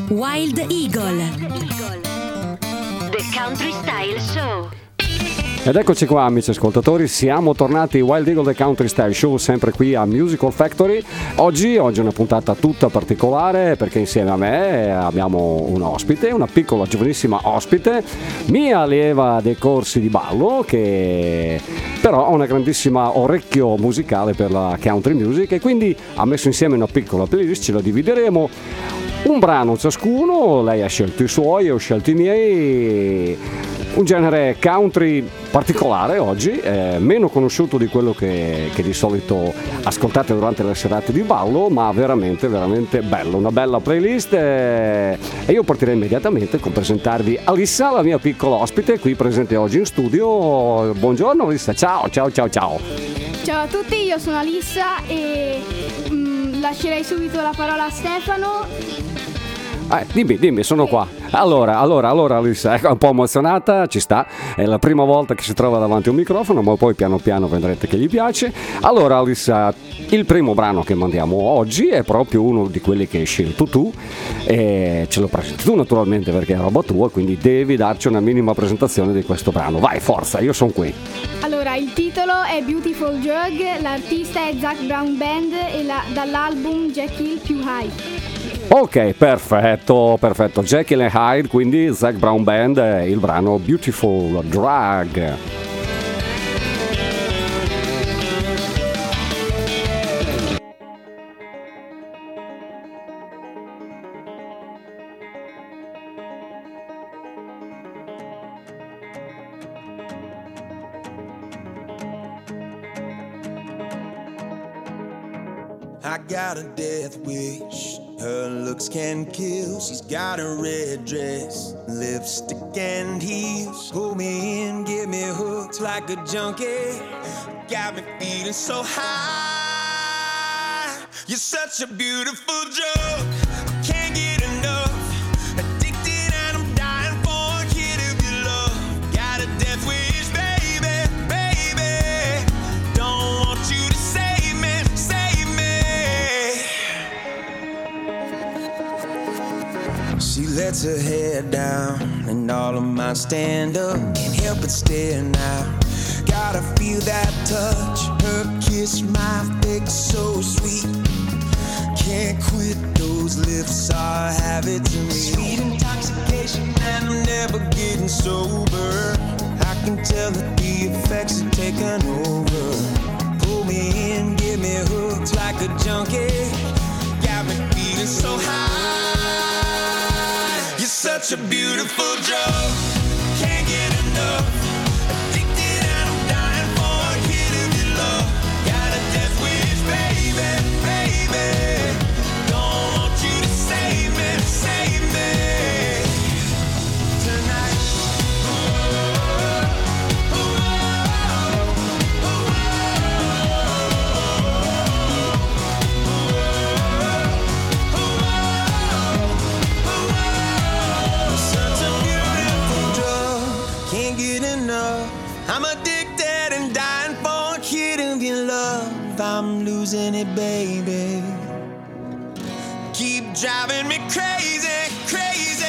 Wild Eagle, The Country Style Show. Ed eccoci qua, amici ascoltatori, siamo tornati Wild Eagle The Country Style Show, sempre qui a Musical Factory. Oggi è una puntata tutta particolare perché insieme a me abbiamo un ospite, una piccola giovanissima ospite, mia allieva dei corsi di ballo, che però ha una grandissima orecchio musicale per la country music e quindi ha messo insieme una piccola playlist, ce la divideremo. Un brano ciascuno, lei ha scelto i suoi, ho scelto i miei. Un genere country particolare oggi, meno conosciuto di quello che di solito ascoltate durante le serate di ballo, ma veramente veramente bello, una bella playlist, e io partirei immediatamente con presentarvi Alissa, la mia piccola ospite qui presente oggi in studio. Buongiorno Alissa, ciao. Ciao a tutti, io sono Alissa e lascerei subito la parola a Stefano. Dimmi, sono qua. Allora Alissa è un po' emozionata, ci sta, è la prima volta che si trova davanti a un microfono, ma poi piano piano vedrete che gli piace. Allora Alissa, il primo brano che mandiamo oggi è proprio uno di quelli che hai scelto tu e ce lo presenti tu naturalmente perché è roba tua, quindi devi darci una minima presentazione di questo brano. Vai, forza, io sono qui. Allora, il titolo è Beautiful Drug, l'artista è Zac Brown Band e dall'album Jekyll Più High. Ok, perfetto. Jekyll and Hyde, quindi Zac Brown Band, il brano Beautiful Drug. I got a death wish. Her looks can kill. She's got a red dress, lipstick and heels. Pull me in, get me hooked like a junkie. Got me feeling so high. You're such a beautiful drug. I can't get enough. Addicted and I'm dying for a hit of your love. Got a death wish, baby, baby. Don't want you to save me, save me. She lets her hair down and all of mine stand up. Can't help but stare now. Gotta feel that touch. Her kiss, my face so sweet. Can't quit, those lips are habit to me. Sweet intoxication and I'm never getting sober. I can tell that the effects are taking over. Pull me in, get me hooked like a junkie. Got me feeling so high. You're such a beautiful drug. Can't get enough. Addicted and I'm dying for a hit of your love. Got a death wish, baby, baby. Don't want you to save me, save me. Tonight. Such a beautiful drug. Can't get enough. I'm addicted and dying for a hit of your love. I'm losing it, baby. Keep driving me crazy, crazy.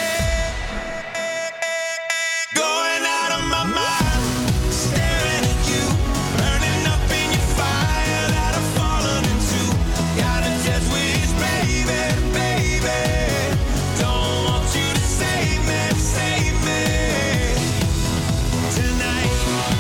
Going out of my mind. Staring at you. Burning up in your fire that I've fallen into. Got a death wish, baby, baby. Don't want you to save me, save me. Tonight.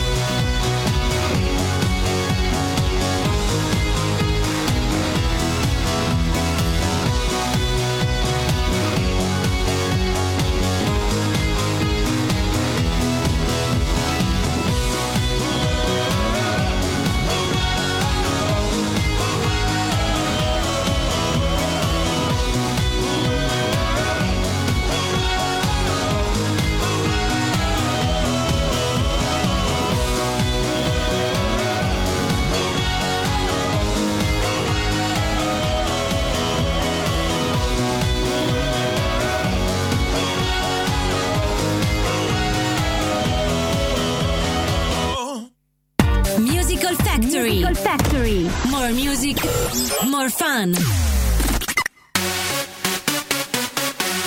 Musical Factory. More music, more fun.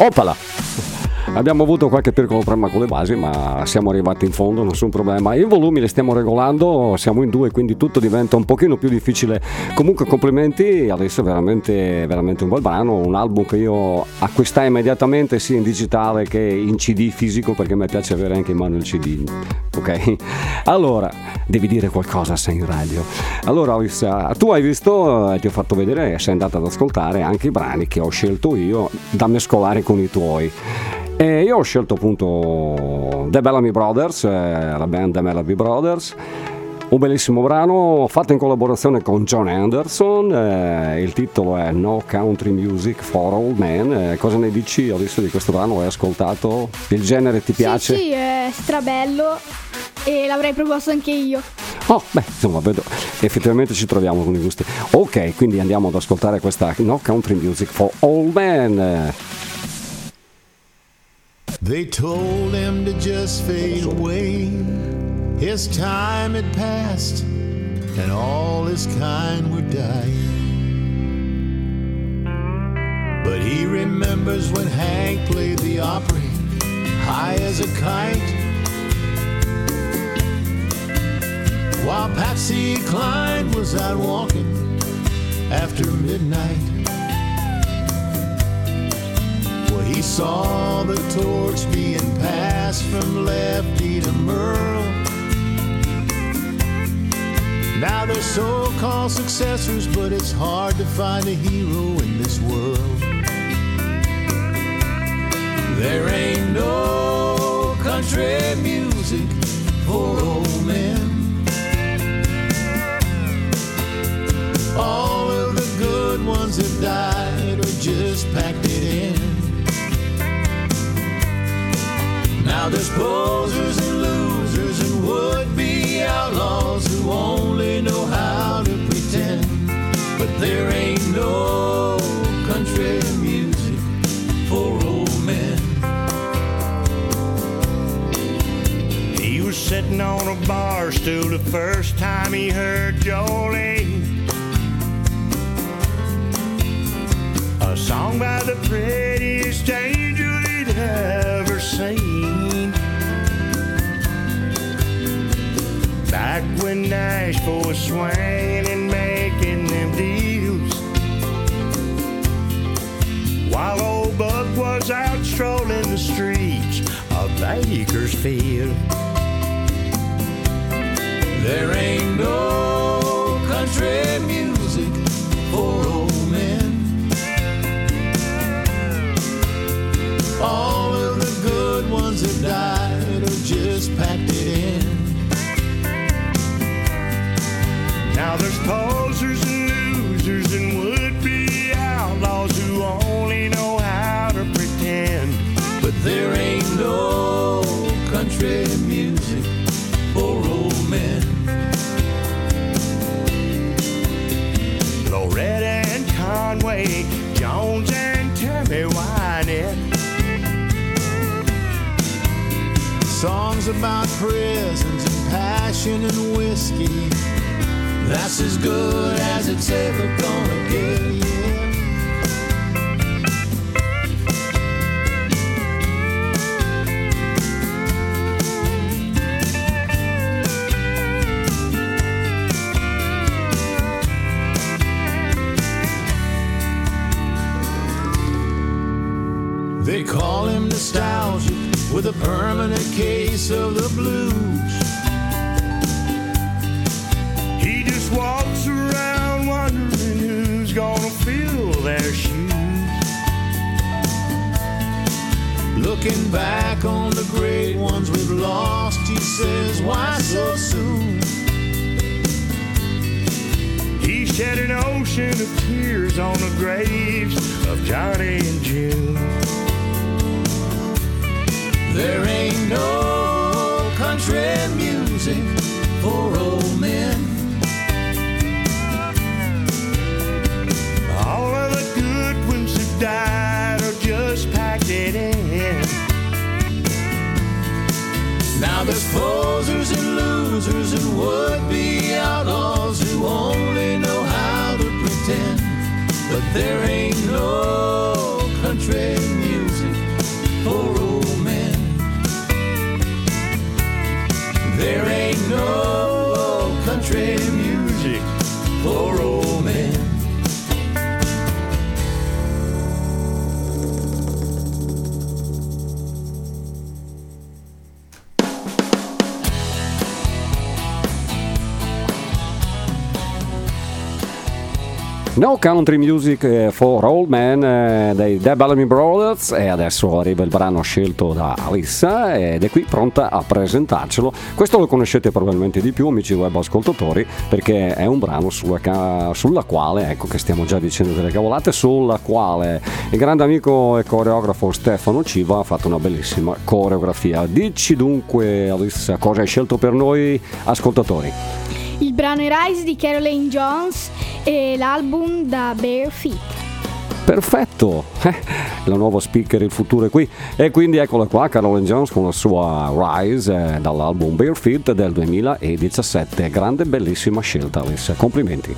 Oppala! Abbiamo avuto qualche piccolo problema con le basi, ma siamo arrivati in fondo, nessun problema. I volumi li stiamo regolando, siamo in 2, quindi tutto diventa un pochino più difficile. Comunque complimenti, adesso è veramente un bel brano, un album che io acquistai immediatamente sia in digitale che in CD fisico, perché mi piace avere anche in mano il CD. Ok? Allora, devi dire qualcosa, sei in radio. Allora, tu hai visto, ti ho fatto vedere, sei andato ad ascoltare anche i brani che ho scelto io da mescolare con i tuoi. E io ho scelto appunto The Bellamy Brothers, la band The Bellamy Brothers, un bellissimo brano fatto in collaborazione con John Anderson, il titolo è No Country Music for Old Men. Cosa ne dici adesso di questo brano? Hai ascoltato? Il genere ti piace? Sì, è strabello e l'avrei proposto anche io. Oh, beh, insomma, vedo, effettivamente ci troviamo con i gusti. Ok, quindi andiamo ad ascoltare questa No Country Music for Old Men. They told him to just fade away. His time had passed, and all his kind were dying. But he remembers when Hank played the Opry, high as a kite, while Patsy Cline was out walking after midnight. He saw the torch being passed from Lefty to Merle. Now they're so-called successors, but it's hard to find a hero in this world. There ain't no country music for old men. All of the good ones have died or just packed it in. Now there's posers and losers and would-be outlaws who only know how to pretend. But there ain't no country music for old men. He was sitting on a bar stool the first time he heard Jolene, a song by the prettiest angel he'd ever seen. Back when Nashville was swinging and making them deals, while old Buck was out strolling the streets of Bakersfield. There ain't no country music for old men. All of the good ones have died or just packed it in. Now there's posers and losers and would-be outlaws who only know how to pretend. But there ain't no country music for old men. Loretta and Conway, Jones and Tammy Wynette. Songs about prisons and passion and whiskey, that's as good as it's ever gonna get, yeah. They call him nostalgic with a permanent case of the blues. He just walks around wondering who's gonna fill their shoes. Looking back on the great ones we've lost, he says, why so soon? He shed an ocean of tears on the graves of Johnny and June. There ain't no country music for old men. All of the good ones have died or just packed it in. Now there's posers and losers and would-be outlaws who only know how to pretend. But there ain't no country music for old men. There ain't no country music for old men. No Country Music for Old Men dei The Bellamy Brothers, e adesso arriva il brano scelto da Alissa ed è qui pronta a presentarcelo. Questo lo conoscete probabilmente di più, amici web ascoltatori, perché è un brano sulla quale, ecco che stiamo già dicendo delle cavolate, sulla quale il grande amico e coreografo Stefano Civa ha fatto una bellissima coreografia. Dici dunque, Alissa, cosa hai scelto per noi ascoltatori? Il brano è Rise di Caroline Jones e l'album da Bare Feet. Perfetto, la nuova speaker, il futuro è qui. E quindi eccola qua, Caroline Jones con la sua Rise dall'album Bare Feet del 2017. Grande, bellissima scelta, Alissa, complimenti.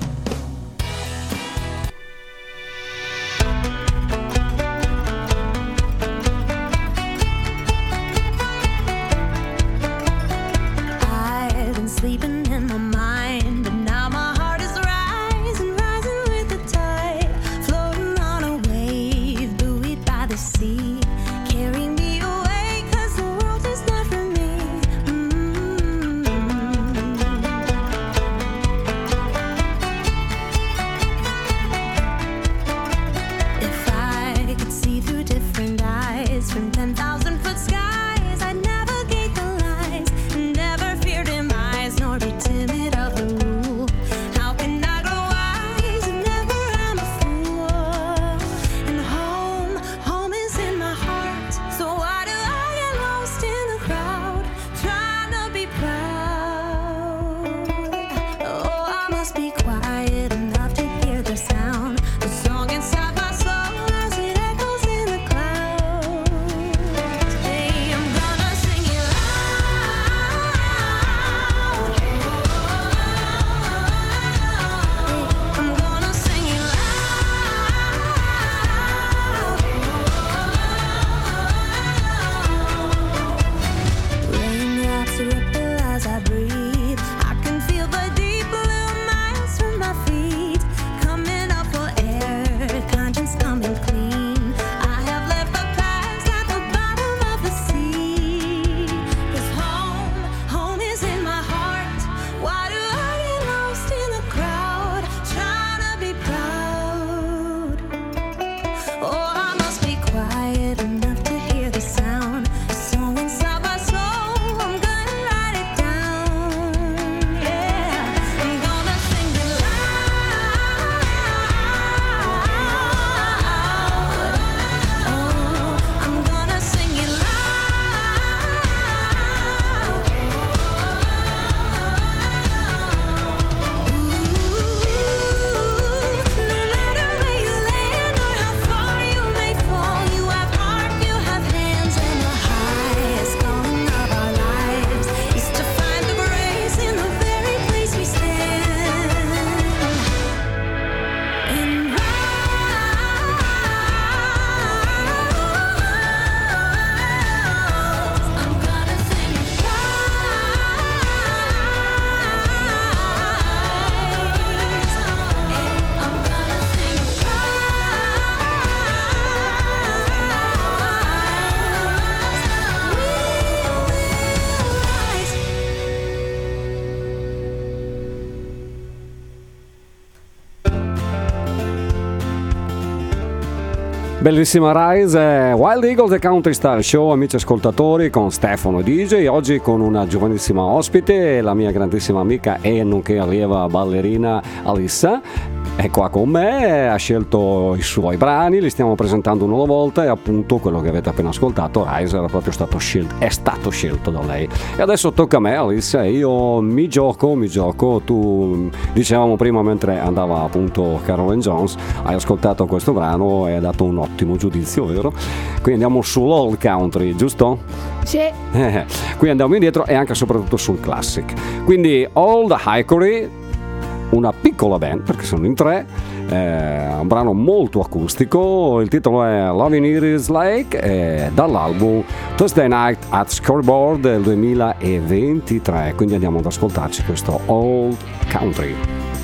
Bellissima Rise, Wild Eagle The Country Style Show, amici ascoltatori, con Stefano DJ, oggi con una giovanissima ospite, la mia grandissima amica e nonché allieva ballerina Alissa. È qua con me, ha scelto i suoi brani, li stiamo presentando uno alla volta e appunto quello che avete appena ascoltato, Rise, era proprio stato scelto da lei. E adesso tocca a me, Alissa, io mi gioco, tu dicevamo prima mentre andava appunto Caroline Jones, hai ascoltato questo brano e hai dato un ottimo giudizio, vero? Quindi andiamo sull'old country, giusto? Sì. Qui andiamo indietro e anche e soprattutto sul classic. Quindi Old Hickory una piccola band perché sono in tre, un brano molto acustico, il titolo è Loving Iris Lake, dall'album Thursday Night at Scoreboard del 2023, quindi andiamo ad ascoltarci questo Old Country.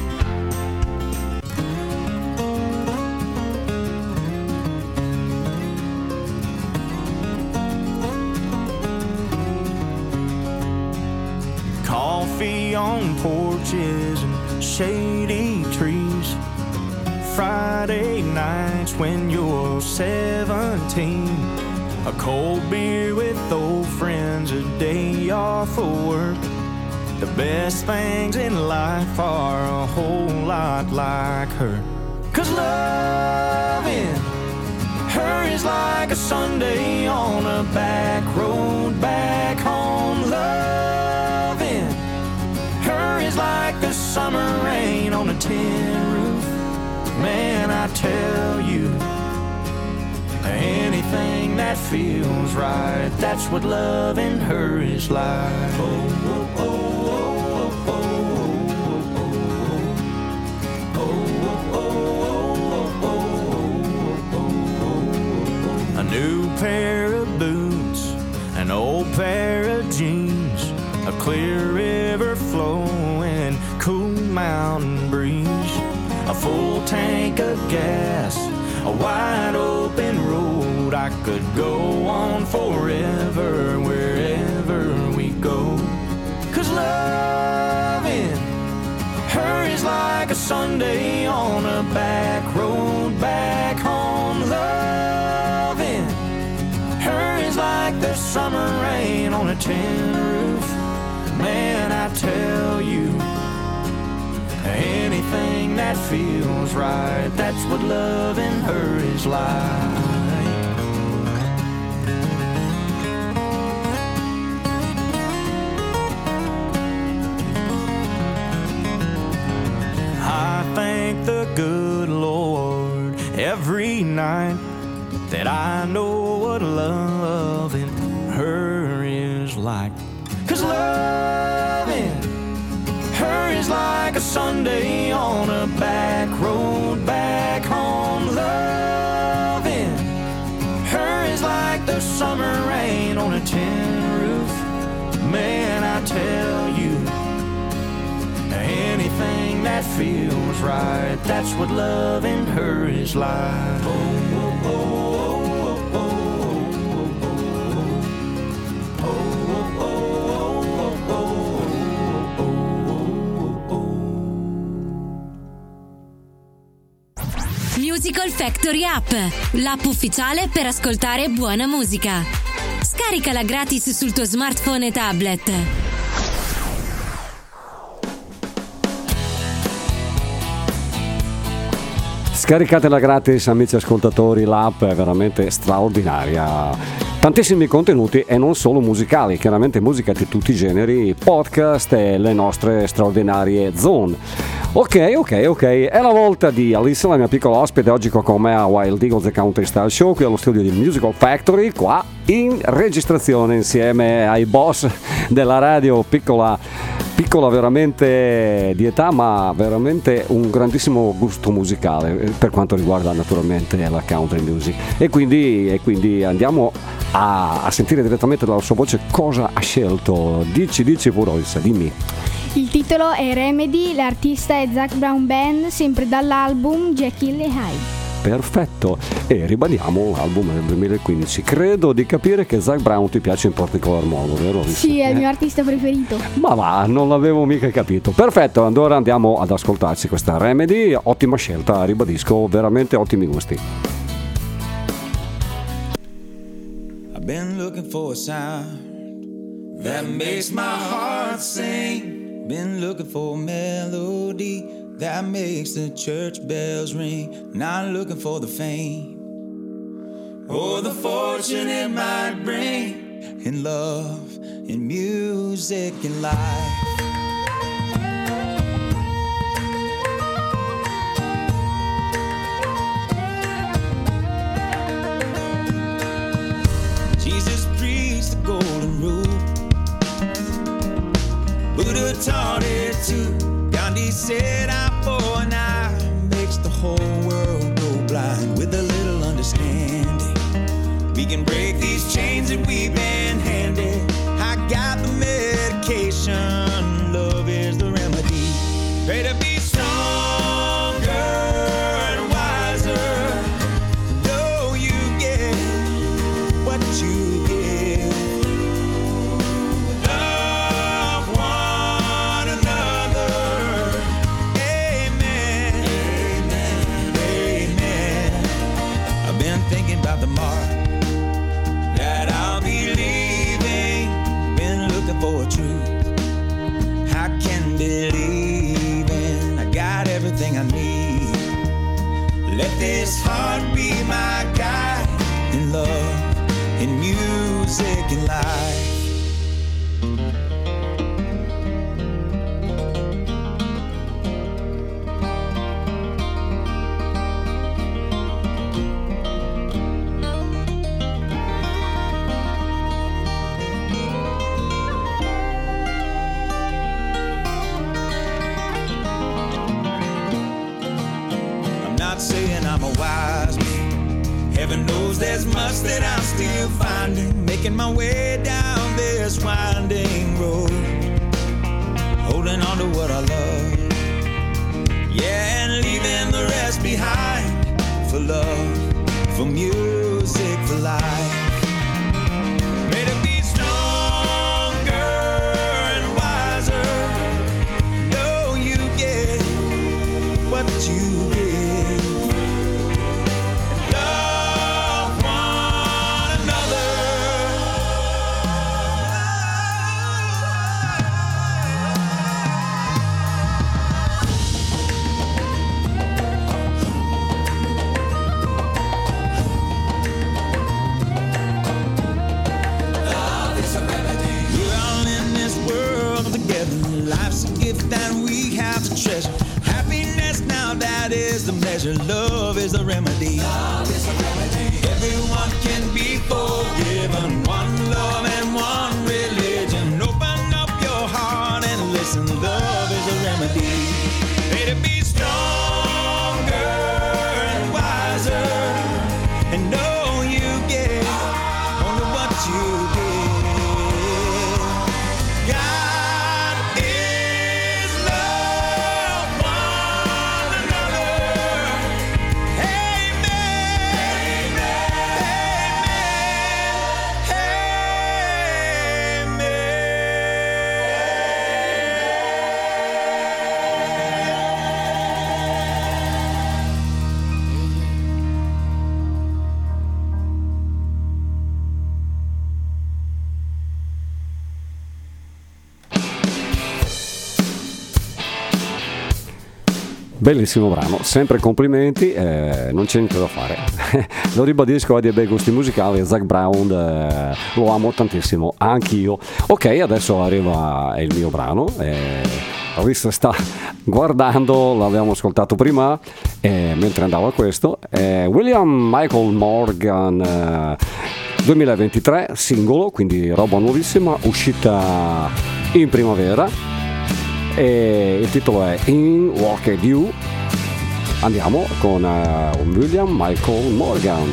Coffee on porches and shady trees, Friday nights when you're 17, a cold beer with old friends, a day off of work. The best things in life are a whole lot like her. 'Cause loving her is like a Sunday on a back road back home. Loving her is like the summer rain on a tin roof. Man, I tell you, anything that feels right, that's what loving her is like. Oh, oh, oh, oh, oh, oh. A new pair of boots, an old pair of jeans, a clear river flowing, cool mountain breeze, a full tank of gas, a wide open road. I could go on forever wherever we go. 'Cause loving her is like a Sunday on a back road back home. Loving her is like the summer rain on a tin roof. Man, I tell you, anything that feels right, that's what loving her is like. I thank the good Lord every night that I know what loving her is like. 'Cause loving her is like a Sunday on a back road back home. Loving her is like the summer rain on a tin roof. Man, I tell you, anything that feels right, that's what loving her is like. Oh, oh, oh, oh, oh, Musical Factory App, l'app ufficiale per ascoltare buona musica. Scaricala gratis sul tuo smartphone e tablet. Scaricatela gratis, amici ascoltatori, l'app è veramente straordinaria. Tantissimi contenuti e non solo musicali, chiaramente musica di tutti i generi, podcast e le nostre straordinarie zone. Ok, è la volta di Alissa, la mia piccola ospite, oggi qua con me a Wild Eagles The Country Style Show, qui allo studio di Musical Factory, qua in registrazione insieme ai boss della radio, piccola veramente di età, ma veramente un grandissimo gusto musicale per quanto riguarda naturalmente la country music, e quindi andiamo a sentire direttamente dalla sua voce cosa ha scelto. Dici pure, Alissa, dimmi. Il titolo è Remedy, l'artista è Zac Brown Band, sempre dall'album Jekyll e Hyde. Perfetto, e ribadiamo l'album del 2015. Credo di capire che Zac Brown ti piace in particolar modo, vero? Sì, è il mio artista preferito. Ma va, non l'avevo mica capito. Perfetto, allora andiamo ad ascoltarci questa Remedy, ottima scelta, ribadisco, veramente ottimi gusti. I've been looking for a sound that makes my heart sing. Been looking for a melody that makes the church bells ring. Not looking for the fame or the fortune it might bring in love, in music, in life. Jesus preached the golden rule, Buddha taught it too, Gandhi he set out for now makes the whole world go blind. With a little understanding, we can break these chains that we've been handed. I got the medication, love is the remedy. Pray to be stronger and wiser. Know you get what you give. Love one another. Amen. Amen. Amen. I've been thinking about the mark that I'll be leaving. Been looking for a truth I can believe in. I got everything I need. Let this heart be my guide in love, in music and life. Saying I'm a wise man. Heaven knows there's much that I'm still finding. Making my way down this winding road, holding on to what I love, yeah, and leaving the rest behind. For love, for music, for life. May to be stronger and wiser. Know you get what you get. Treasure. Happiness now, that is the measure. Love is the remedy. Love is the remedy. Everyone can be forgiven. One love and one religion. Open up your heart and listen. Love is the remedy. May to be stronger and wiser, and know you get only what you get. Bellissimo brano, sempre complimenti, non c'è niente da fare. Lo ribadisco, ha dei bei gusti musicali. Zac Brown lo amo tantissimo, anch'io. Ok, adesso arriva il mio brano. Alice sta guardando, l'abbiamo ascoltato prima mentre andava questo. William Michael Morgan 2023, singolo, quindi roba nuovissima, uscita in primavera. E il titolo è In Walked You. Andiamo con William Michael Morgan.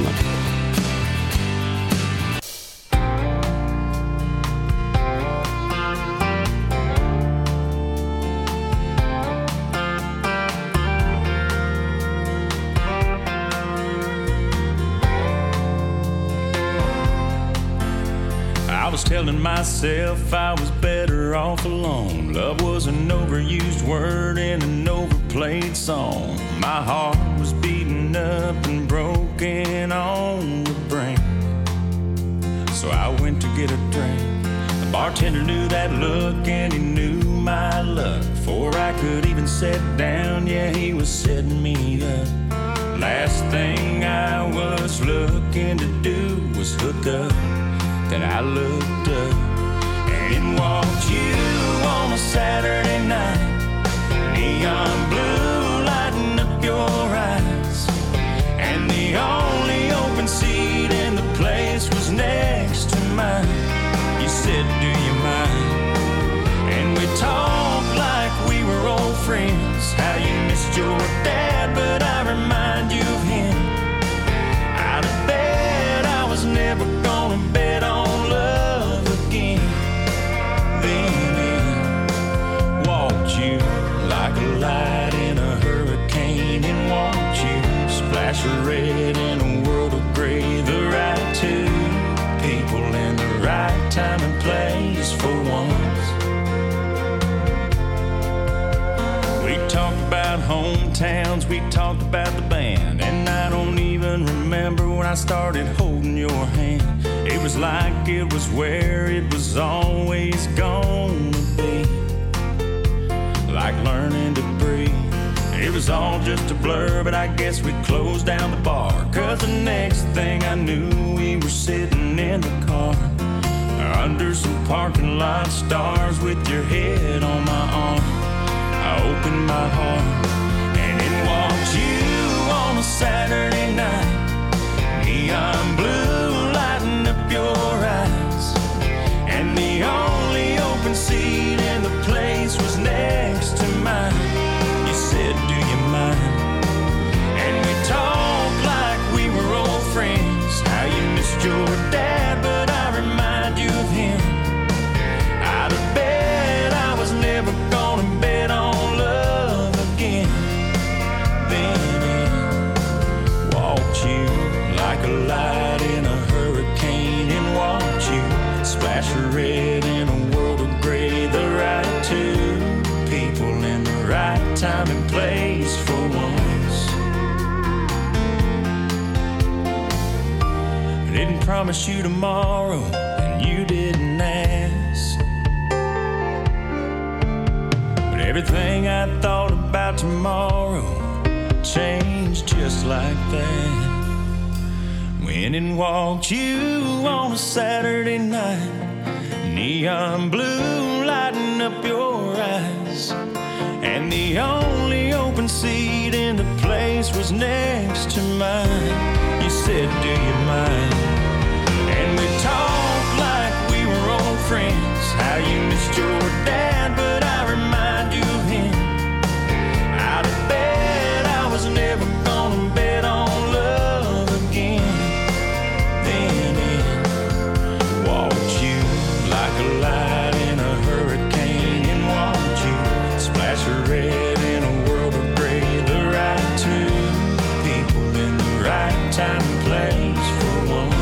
I was telling myself I was better off alone. Love was an overused word in an overplayed song. My heart was beaten up and broken on the brink. So I went to get a drink. The bartender knew that look and he knew my luck. Before I could even sit down, yeah, he was setting me up. Last thing I was looking to do was hook up. Then I looked up, and in walked you on a Saturday night. Neon blue lighting up your eyes, and the only open seat in the place was next to mine. You said, do you mind? And we talked like we were old friends. right time and place for once. We talked about hometowns, we talked about the band, and I don't even remember when I started holding your hand. It was like it was where it was always gonna be, like learning to breathe. It was all just a blur, but I guess we closed down the bar, 'cause the next thing I knew we were sitting in the car under some parking lot stars with your head on my arm. I opened my heart and in walked you on a Saturday night, neon blue lighting up your eyes, and the only open seat in the place was next to mine. You said, do you mind? And we talked like we were old friends, how you missed your dad, but I remind you of him. I'd have bet I was never gonna bet on love again. Then in walked you like a light in a hurricane, and watched you splash red in a world of gray. The right two people in the right time and place for once. I didn't promise you tomorrow, and you didn't ask. But everything I thought about tomorrow changed just like that. When and walked you on a Saturday night, neon blue lighting up your eyes, and the only open seat in the place was next to mine. You said, do you mind? And we talked like we were old friends, how you missed your dad, but I remind you of him. I'd have bet I was never gonna bet on love again. Then in walked you like a light in a hurricane, and watched you splash red in a world of gray. The right two people in the right time and place for once.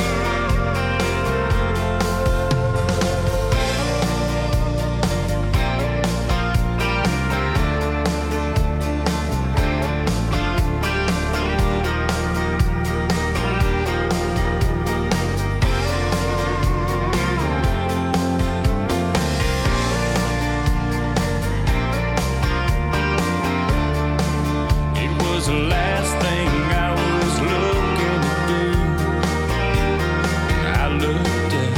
The last thing I was looking to do, I looked at,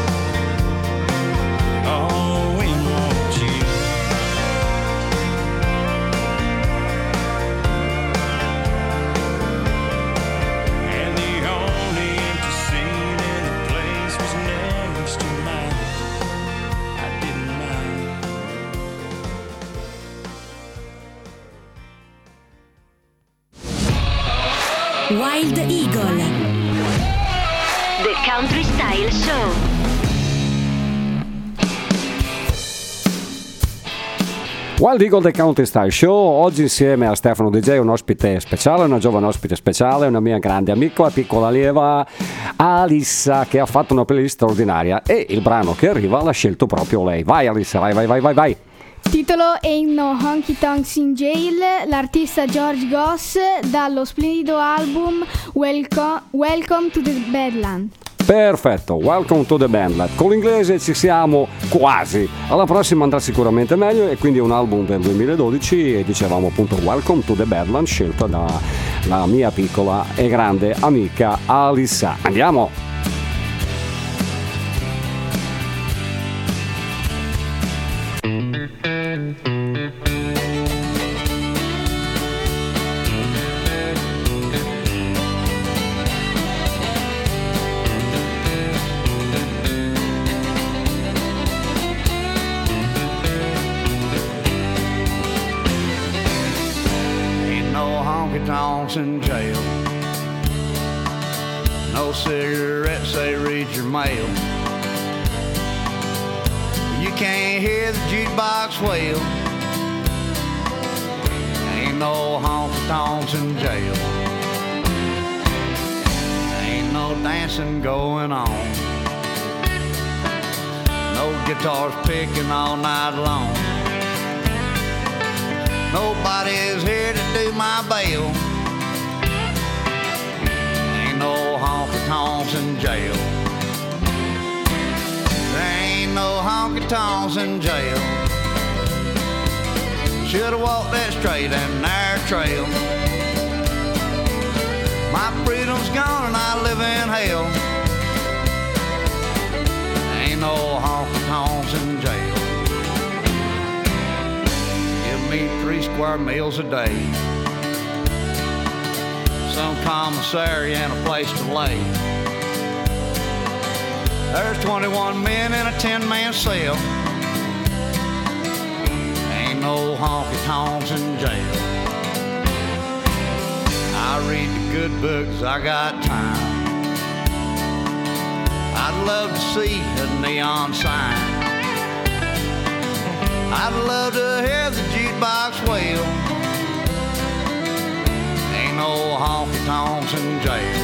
oh, and walked you. And the only empty seat in the place was next to mine. I didn't mind. Wild Eagle, The Country Style Show. Wild Eagle The Country Style Show, oggi insieme a Stefano DJ, un ospite speciale, una giovane ospite speciale, una mia grande amica, piccola allieva, Alissa, che ha fatto una playlist straordinaria, e il brano che arriva l'ha scelto proprio lei. Vai Alissa, vai. Titolo Ain't No Honky Tonks in Jail, l'artista George Goss, dallo splendido album Welcome to the Badland. Perfetto, Welcome to the Bandland. Con l'inglese ci siamo quasi. Alla prossima andrà sicuramente meglio, e quindi è un album del 2012 e dicevamo appunto Welcome to the Badland, scelta dalla mia piccola e grande amica Alissa. Andiamo! Tonks in jail. No cigarettes, they read your mail. You can't hear the jukebox wail. Ain't no honky tonks in jail. Ain't no dancing going on. guitars picking all night long. Nobody's here to do my bail. Ain't no honky-tonks in jail. There ain't no honky-tonks in jail. Should've walked that straight and narrow trail. My freedom's gone and I live in hell. Ain't no honky-tonks in jail. Give me 3 square meals a day, some commissary and a place to lay. There's 21 men in a 10-man cell. Ain't no honky-tonks in jail. I read the good books, I got time. I'd love to see a neon sign. I'd love to hear the jukebox wail. Ain't no honky-tonks in jail.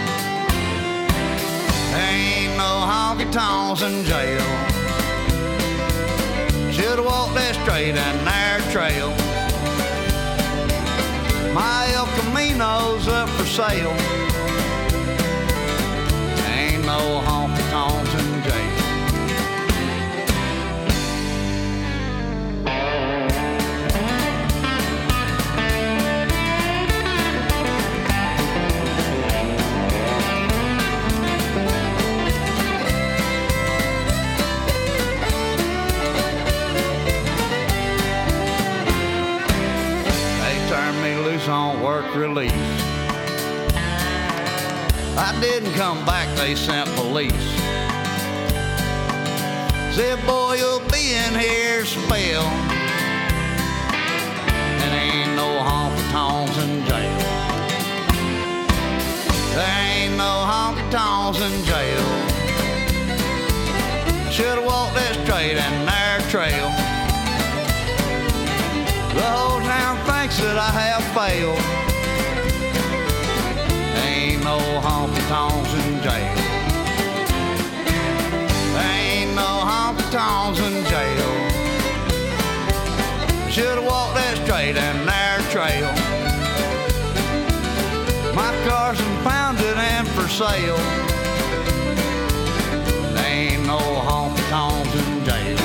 Ain't no honky-tonks in jail. Should've walked that straight and narrow trail. My El Camino's up for sale. Ain't no honky-tonks in jail. On work release, I didn't come back, they sent police. Said, boy, you'll be in here a spell. And ain't no honky-tonks in jail. There ain't no honky-tonks in jail. Should've walked that straight and narrow trail. The whole town thinks that I have failed. Ain't no honky-tonks in jail. Ain't no honky-tonks in jail. Should've walked that straight and narrow trail. My car's impounded and for sale. Ain't no honky-tonks in jail.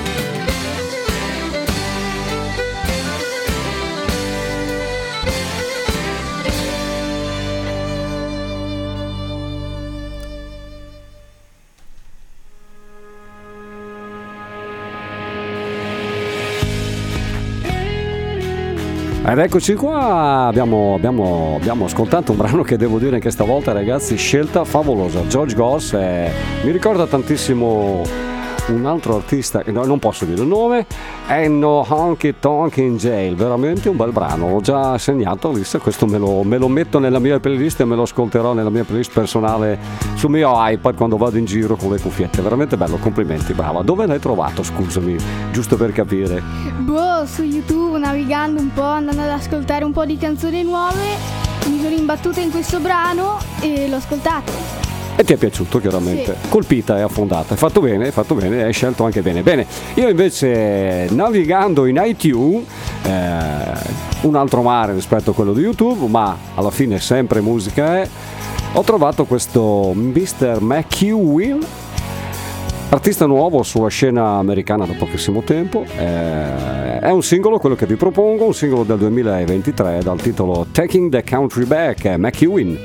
Ed eccoci qua, abbiamo ascoltato un brano che devo dire che stavolta, ragazzi, scelta favolosa. George Goss, mi ricorda tantissimo un altro artista, non posso dire il nome, Ain't No Honky Tonk in Jail, veramente un bel brano, l'ho già segnato, questo me lo metto nella mia playlist e me lo ascolterò nella mia playlist personale sul mio iPad quando vado in giro con le cuffiette, veramente bello, complimenti, brava. Dove l'hai trovato, scusami, giusto per capire? Su YouTube, navigando un po', andando ad ascoltare un po' di canzoni nuove, mi sono imbattuta in questo brano e l'ho ascoltato. E ti è piaciuto, chiaramente? Sì. Colpita e affondata, hai fatto bene, hai scelto anche bene. Bene, io invece navigando in iTunes, un altro mare rispetto a quello di YouTube, ma alla fine sempre musica ho trovato questo Mr. McEwen, artista nuovo sulla scena americana da pochissimo tempo. È un singolo, quello che vi propongo, un singolo del 2023 dal titolo Taking the Country Back, McEwen.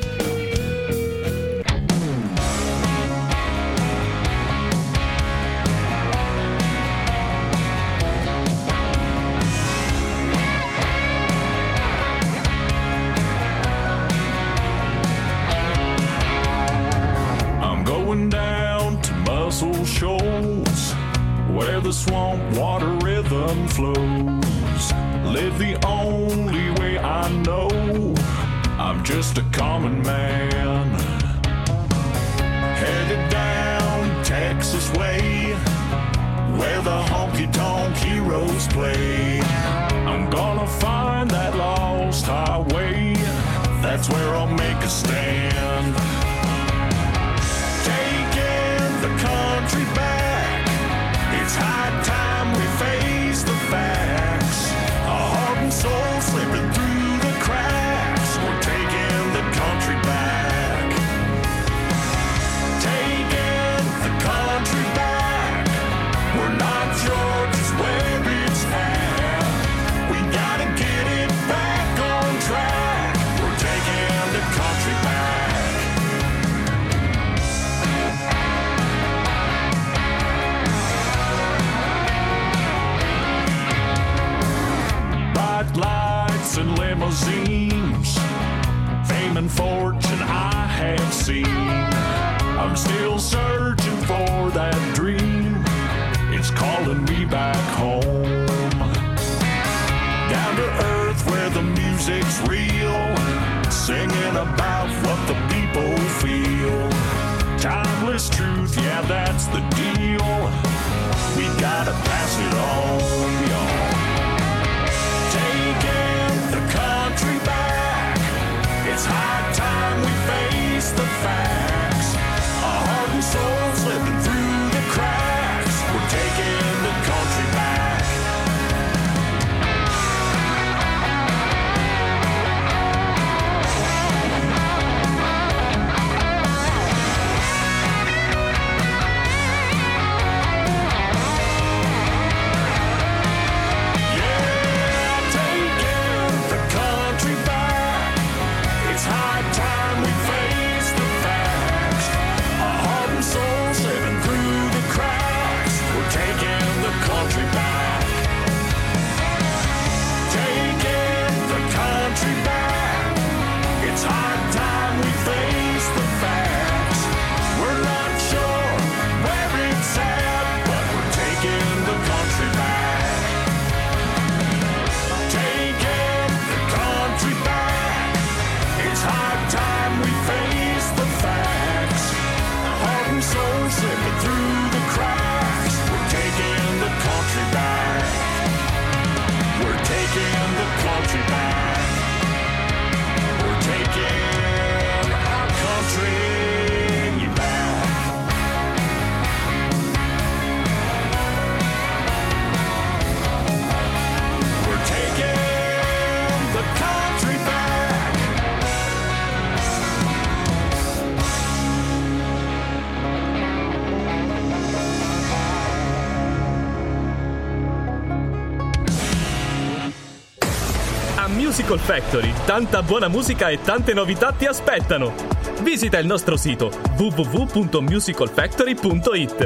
Where the swamp water rhythm flows, live the only way I know. I'm just a common man, headed down Texas way, where the honky-tonk heroes play. I'm gonna find that lost highway, that's where I'll make a stand. Taking the country back, limousines, fame and fortune I have seen. I'm still searching for that dream. It's calling me back home. Down to earth where the music's real, singing about what the people feel. Timeless truth, yeah, that's the deal. We gotta pass it on, y'all. Taking the country back. It's high time we face the facts. Our heart and soul slipping through the cracks. We're taking the country back. Musical Factory, tanta buona musica e tante novità ti aspettano. Visita il nostro sito www.musicalfactory.it.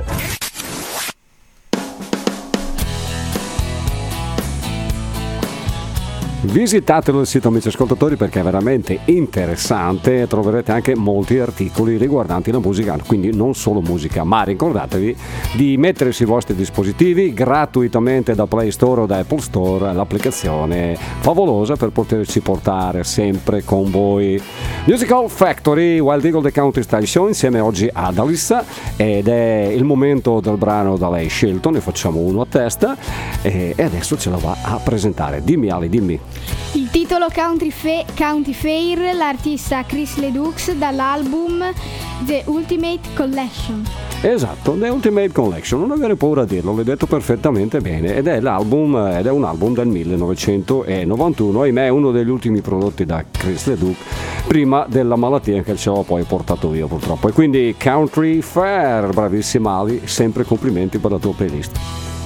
Visitatelo il sito, amici ascoltatori, perché è veramente interessante e troverete anche molti articoli riguardanti la musica, quindi non solo musica, ma ricordatevi di mettere sui vostri dispositivi gratuitamente da Play Store o da Apple Store l'applicazione favolosa per poterci portare sempre con voi. Musical Factory, Wild Eagle The Country Style Show, insieme oggi ad Alissa, ed è il momento del brano da lei scelto, ne facciamo uno a testa e adesso ce la va a presentare. Dimmi Ali, dimmi. Il titolo County Fair, l'artista Chris Ledoux dall'album The Ultimate Collection. Esatto, The Ultimate Collection, non avere paura a dirlo, l'hai detto perfettamente bene, ed è un album del 1991, ahimè è uno degli ultimi prodotti da Chris Ledoux prima della malattia che ce l'ho poi portato via purtroppo. E quindi Country Fair, bravissima Ali, sempre complimenti per la tua playlist.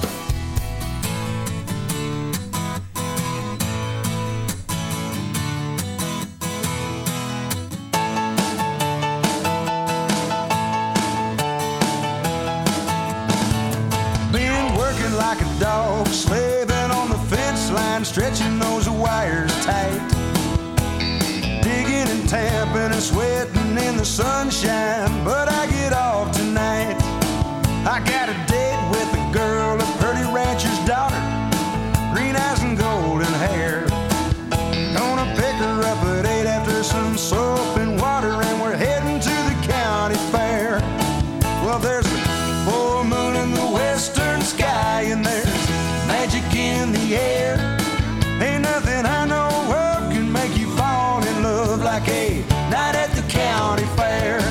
Stretching those wires tight, digging and tamping and sweating in the sunshine, but I get off tonight. I got a date with a girl, a pretty rancher's daughter, green eyes and golden hair. Gonna pick her up at 8 after some soap and water, and we're heading to the county fair. Well, there's a full moon in the western sky, and there's magic in the air. Ain't nothing I know of can make you fall in love like a night at the county fair.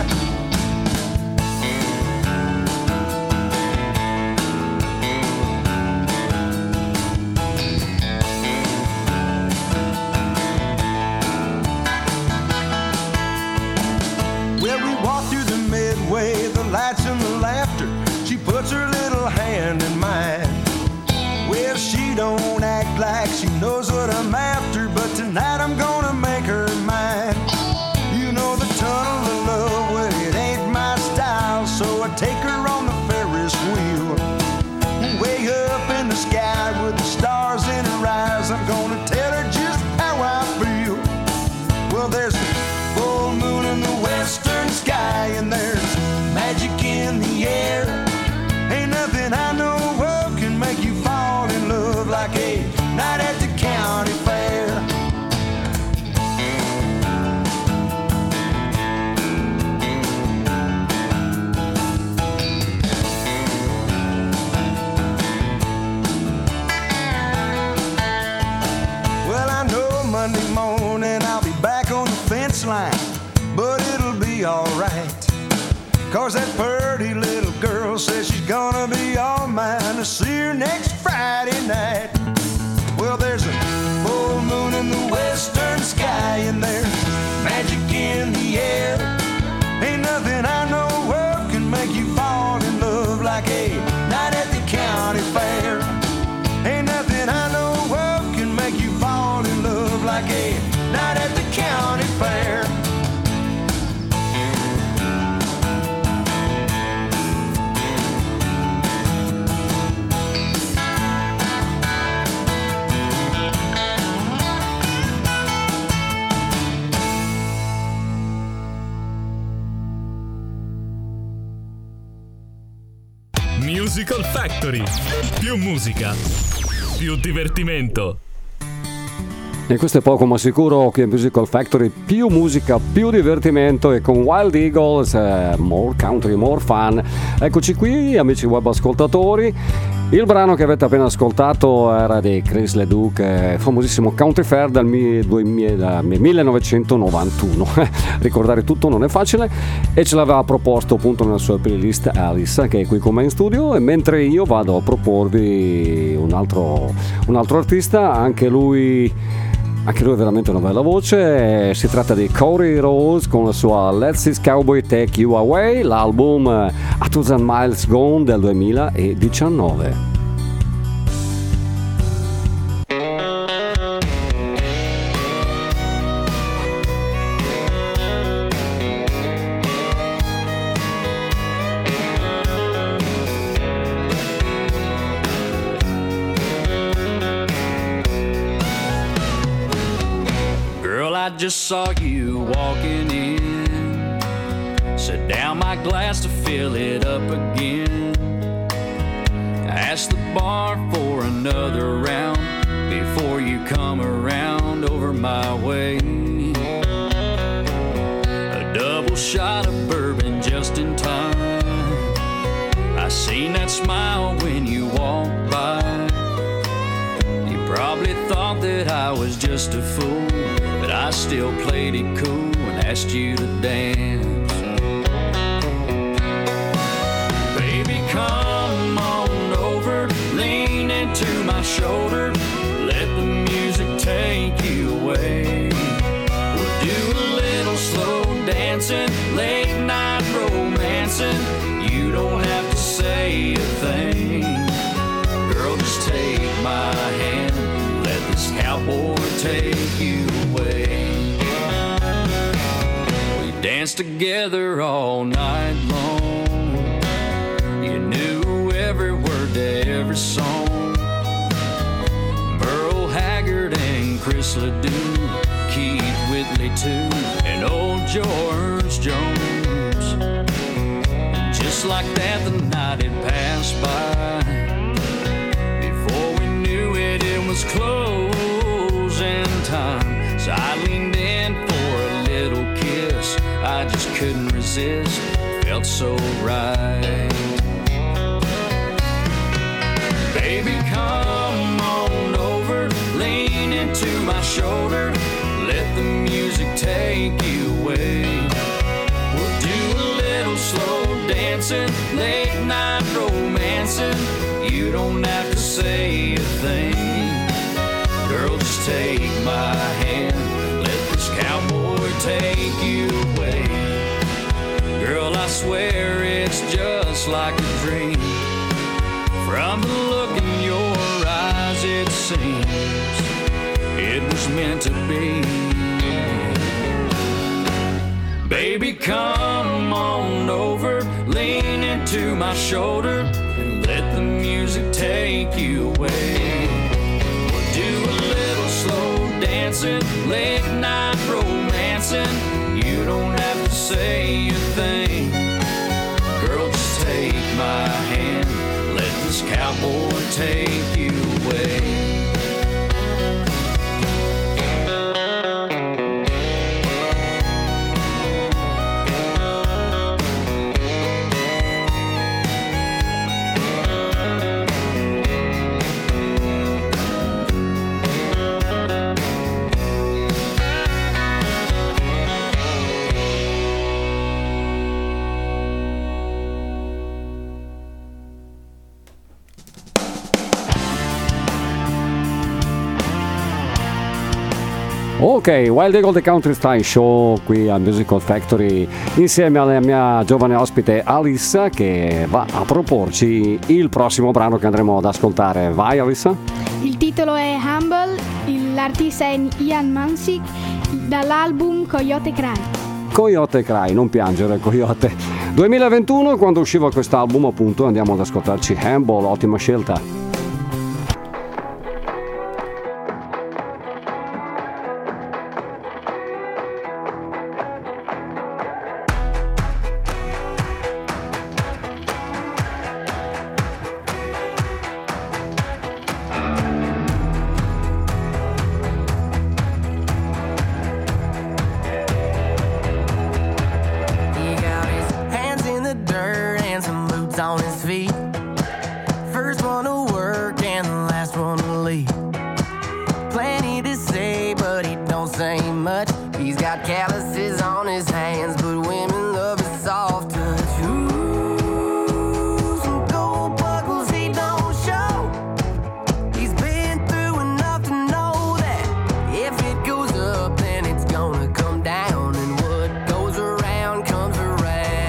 Well, we walk through the midway, the lights and the laughter. She puts her little hand in mine. Well, she don't act like she knows what I'm after, but tonight I'm gonna make her mine. You know the tunnel of love, well, it ain't my style, so I take her on the Ferris wheel. Way up in the sky with the stars in her eyes, I'm gonna tell her just how I feel. 'cause that pretty little girl says she's gonna be all mine. To see her next Friday night. Well, there's a full moon in the western sky, and there's magic in the air. Ain't nothing I know of can make you fall in love like a night at the county fair. Ain't nothing I know of can make you fall in love like a night at the county fair. Musical Factory. Più musica, più divertimento. E questo è poco ma sicuro che Musical Factory, più musica, più divertimento, e con Wild Eagles more country, more fun. Eccoci qui, amici web ascoltatori. Il brano che avete appena ascoltato era di Chris Ledoux, famosissimo Country Fair del 1991. Ricordare tutto non è facile, e ce l'aveva proposto appunto nella sua playlist Alice, che è qui con me in studio. E mentre io vado a proporvi un altro artista, anche lui è veramente una bella voce. Si tratta di Corey Rose con la sua Let's This Cowboy Take You Away, l'album A Thousand Miles Gone del 2019. I just saw you walking in. Set down my glass to fill it up again. Ask the bar for another round before you come around over my way. A double shot of bourbon just in time. I seen that smile when you walked by. You probably thought that I was just a fool, but I still played it cool and asked you to dance. Baby, come on over, lean into my shoulder, let the music take you away. We'll do a little slow dancing, late night romancing. You don't have to say a thing. Girl, just take my hand, let this cowboy take you away. We danced together all night long. You knew every word to every song. Merle Haggard and Chris Ledoux, Keith Whitley too, and old George Jones. Just like that the night had passed by. Before we knew it, it was closing time. So I leaned in for a little kiss. I just couldn't resist, felt so right. Baby, come on over, lean into my shoulder, let the music take you away. We'll do a little slow dancing, late night romancing. You don't have to say a thing. Girl, just take my hand, let this cowboy take you away. Girl, I swear it's just like a dream. From the look in your eyes, it seems it was meant to be. Baby, come on over, lean into my shoulder, and let the music take you away. We'll do a little slow dancing, late night romancing. You don't have to say a thing. Girl, just take my hand, let this cowboy take you away. Ok, Wild Eagle The Country Style Show qui a Musical Factory insieme alla mia giovane ospite Alissa, che va a proporci il prossimo brano che andremo ad ascoltare. Vai Alissa. Il titolo è Humble, l'artista è Ian Mansik, dall'album Coyote Cry. Coyote Cry, non piangere Coyote. 2021, quando usciva quest'album, appunto, andiamo ad ascoltarci Humble, ottima scelta. On his feet, first one to work and the last one to leave. Plenty to say, but he don't say much. He's got calluses on his hands, but women love his soft touch. Ooh, some gold buckles he don't show. He's been through enough to know that if it goes up, then it's gonna come down, and what goes around comes around.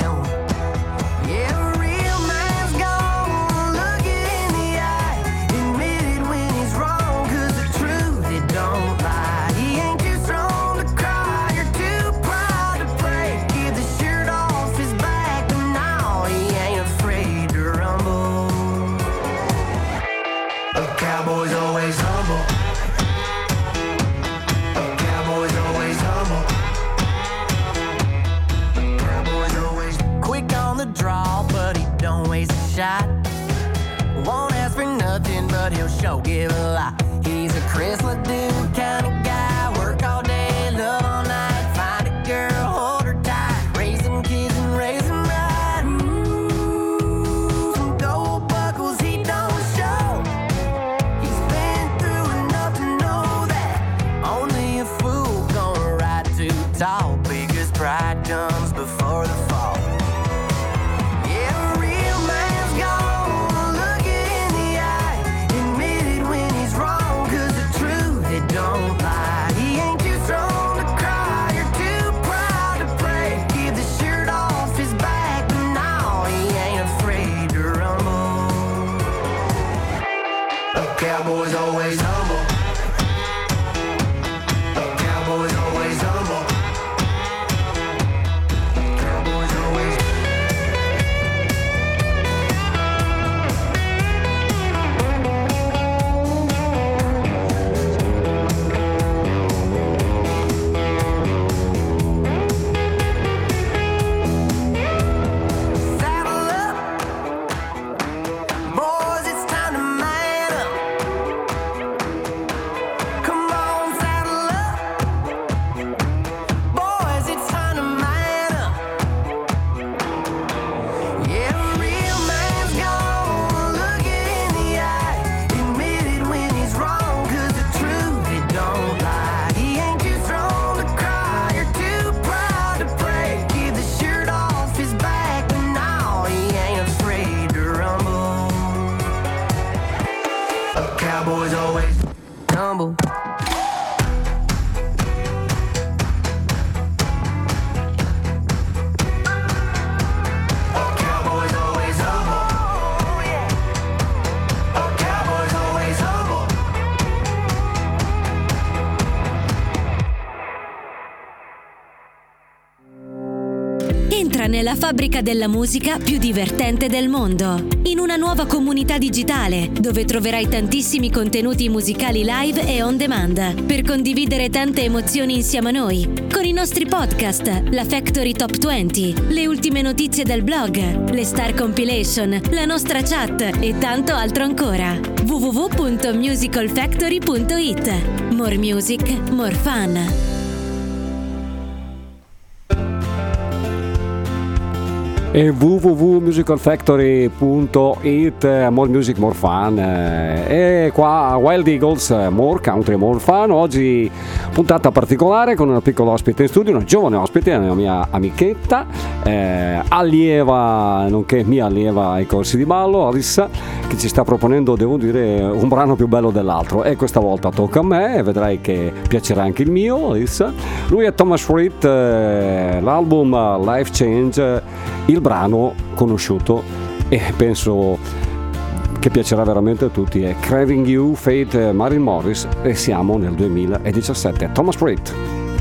Won't ask for nothing, but he'll show give a lot. He's a Chris Ledoux kind of guy. Work all day, love all night. Find a girl, hold her tight. Raise some kids and raise them right. Ooh, some gold buckles he don't show. He's been through enough to know that only a fool gonna ride too tall, because pride comes before the fall. Cowboy's always humble. Cowboy's always humble. Cowboy's always. Saddle up, boys, it's time to man up. Come on, saddle up. Boys, it's time to man up. Yeah, a real man's gonna look it in the eye, admit it when he's wrong, 'cause the truth, it don't lie. He ain't too strong to cry or too proud to pray. Give the shirt off his back, but no, he ain't afraid to rumble. A cowboy's always humble. A cowboy's always humble. A cowboy's always humble. Entra nella fabbrica della musica più divertente del mondo, in una nuova comunità digitale dove troverai tantissimi contenuti musicali live e on demand per condividere tante emozioni insieme a noi, con i nostri podcast, la Factory Top 20, le ultime notizie del blog, le Star Compilation, la nostra chat e tanto altro ancora. www.musicalfactory.it. More music, more fun. e www.musicalfactory.it. More music, more fun. E qua a Wild Eagles, more country, more fun. Oggi puntata particolare con una piccola ospite in studio, una giovane ospite, una mia amichetta, allieva, nonché mia allieva ai corsi di ballo, Alissa, che ci sta proponendo, devo dire, un brano più bello dell'altro. E questa volta tocca a me e vedrai che piacerà anche il mio, Alissa. Lui è Thomas Rhett, l'album Life Change, il brano conosciuto e penso che piacerà veramente a tutti, è Craving You, Faith Mary Morris, e siamo nel 2017. Thomas Rhett.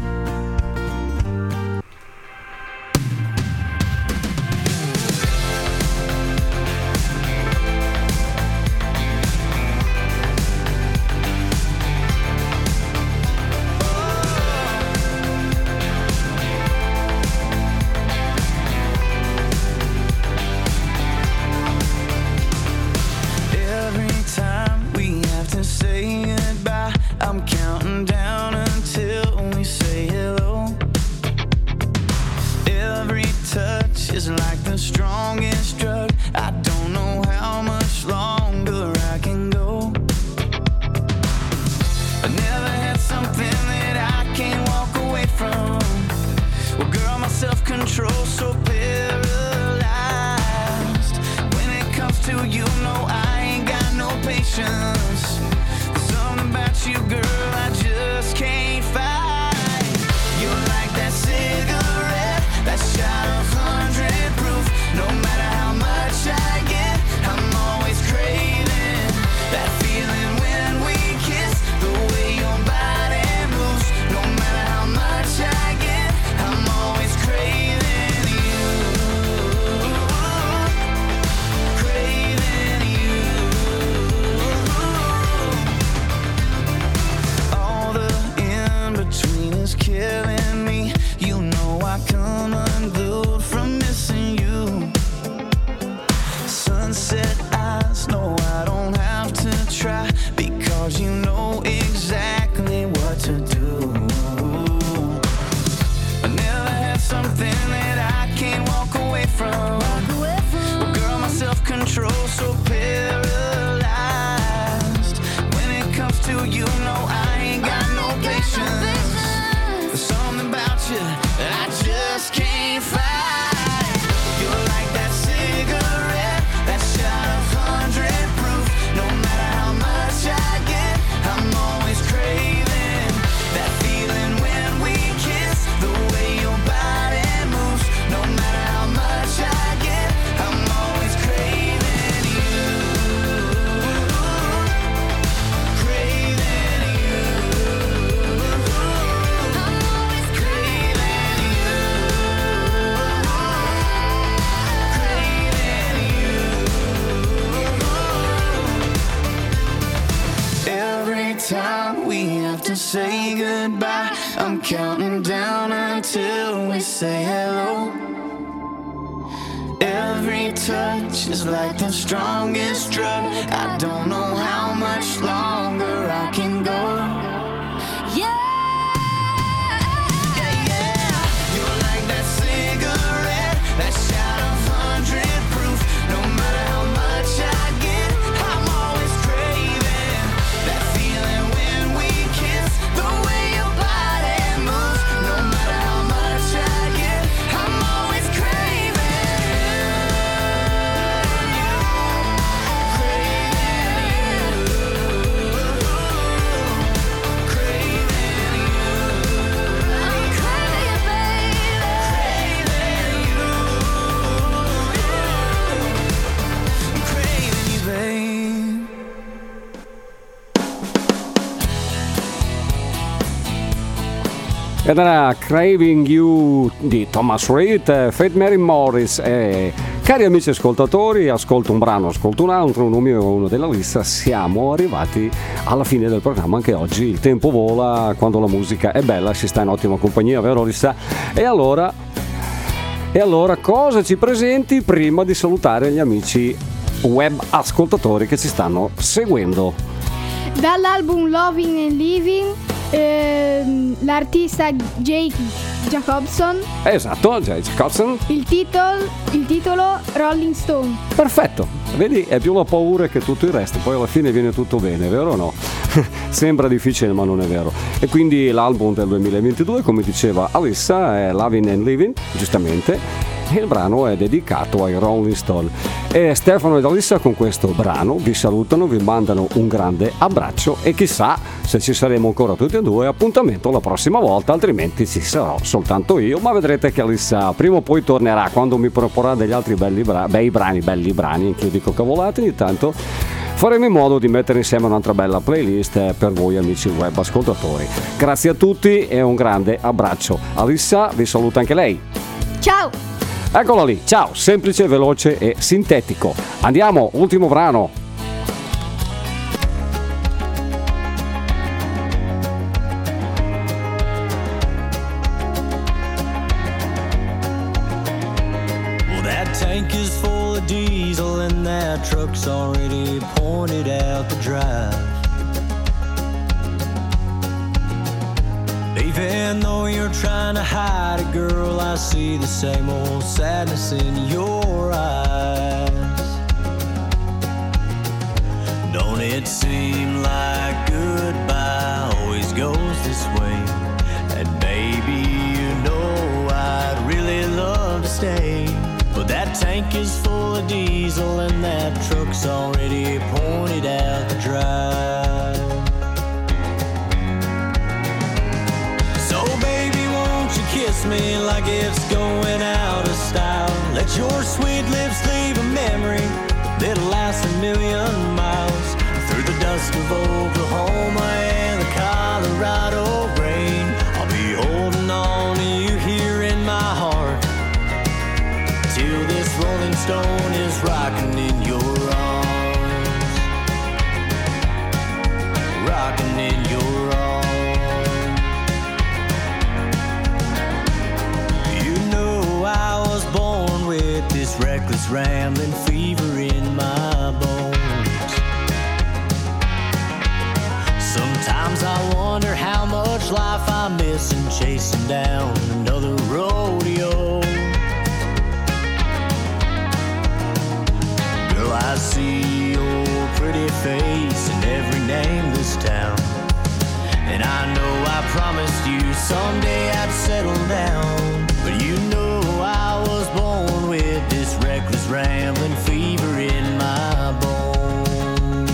Say goodbye, I'm counting down until we say hello. Every touch is like the strongest drug. I don't know how much longer I can go. Yeah. You're like that cigarette, that shot of 100 proof. No matter how much I get, I'm always craving that feeling when we kiss. The way your body moves, no matter how much I get, I'm always craving you, craving I'm craving you, babe. Ed era Craving You di Thomas Rhett, Faith Mary Morris. E cari amici ascoltatori, ascolto un brano, ascolto un altro, uno mio e uno della lista. Siamo arrivati alla fine del programma anche oggi. Il tempo vola quando la musica è bella, si sta in ottima compagnia, vero Lissa? E allora cosa ci presenti prima di salutare gli amici web ascoltatori che ci stanno seguendo? Dall'album Loving and Living, l'artista Jake Jacobson. Esatto, Jay Jacobson. Il titolo Rolling Stone. Perfetto, vedi, è più la paura che tutto il resto, poi alla fine viene tutto bene, vero o no? Sembra difficile ma non è vero. E quindi l'album del 2022, come diceva Alissa, è Loving and Living, giustamente. Il brano è dedicato ai Rolling Stone. E Stefano ed Alissa con questo brano vi salutano, vi mandano un grande abbraccio e chissà se ci saremo ancora tutti e due. Appuntamento la prossima volta, altrimenti ci sarò soltanto io, ma vedrete che Alissa prima o poi tornerà quando mi proporrà degli altri belli brani, anche io dico cavolate ogni tanto. Faremo in modo di mettere insieme un'altra bella playlist per voi amici web ascoltatori. Grazie a tutti e un grande abbraccio. Alissa vi saluta anche lei. Ciao! Eccola lì, ciao, semplice, veloce e sintetico. Andiamo, ultimo brano. Well, that tank is full of diesel and that truck's already pointed out the drive. Even though you're trying to hide it, girl, I see the same old sadness in your eyes. Don't it seem like goodbye always goes this way? And baby, you know I'd really love to stay, but that tank is full of diesel and that truck's already pointed out the drive. Kiss me like it's going out of style. Let your sweet lips leave a memory that'll last 1,000,000 miles. Through the dust of Oklahoma and the Colorado rain, I'll be holding on to you here in my heart till this rolling stone is rocking in your arms. Rocking in your arms. I was born with this reckless rambling fever in my bones. Sometimes I wonder how much life I'm missing chasing down another rodeo. Girl, I see your pretty face in every nameless town, and I know I promised you someday I'd settle down. But you know I was born with this reckless rambling fever in my bones.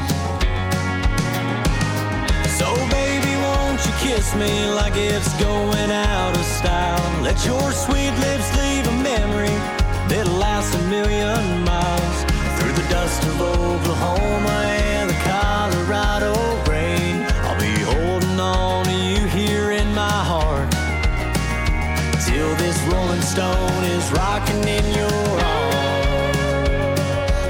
So baby, won't you kiss me like it's going out of style? Let your sweet lips leave a memory that'll last 1,000,000 miles. Through the dust of Oklahoma and the Colorado rain, I'll be holding on to you here in my heart till this rolling stone is rocking in your arms.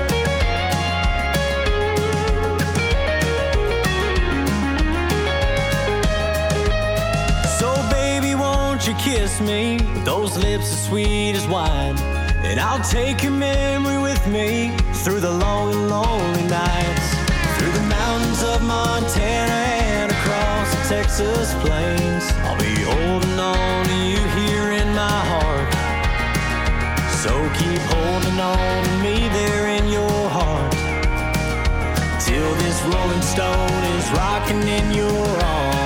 So baby, won't you kiss me with those lips as sweet as wine? And I'll take your memory with me through the long and lonely nights, through the mountains of Montana and across the Texas plains. I'll be holding on to you here in my heart, so keep holding on to me there in your heart till this rolling stone is rocking in your arms.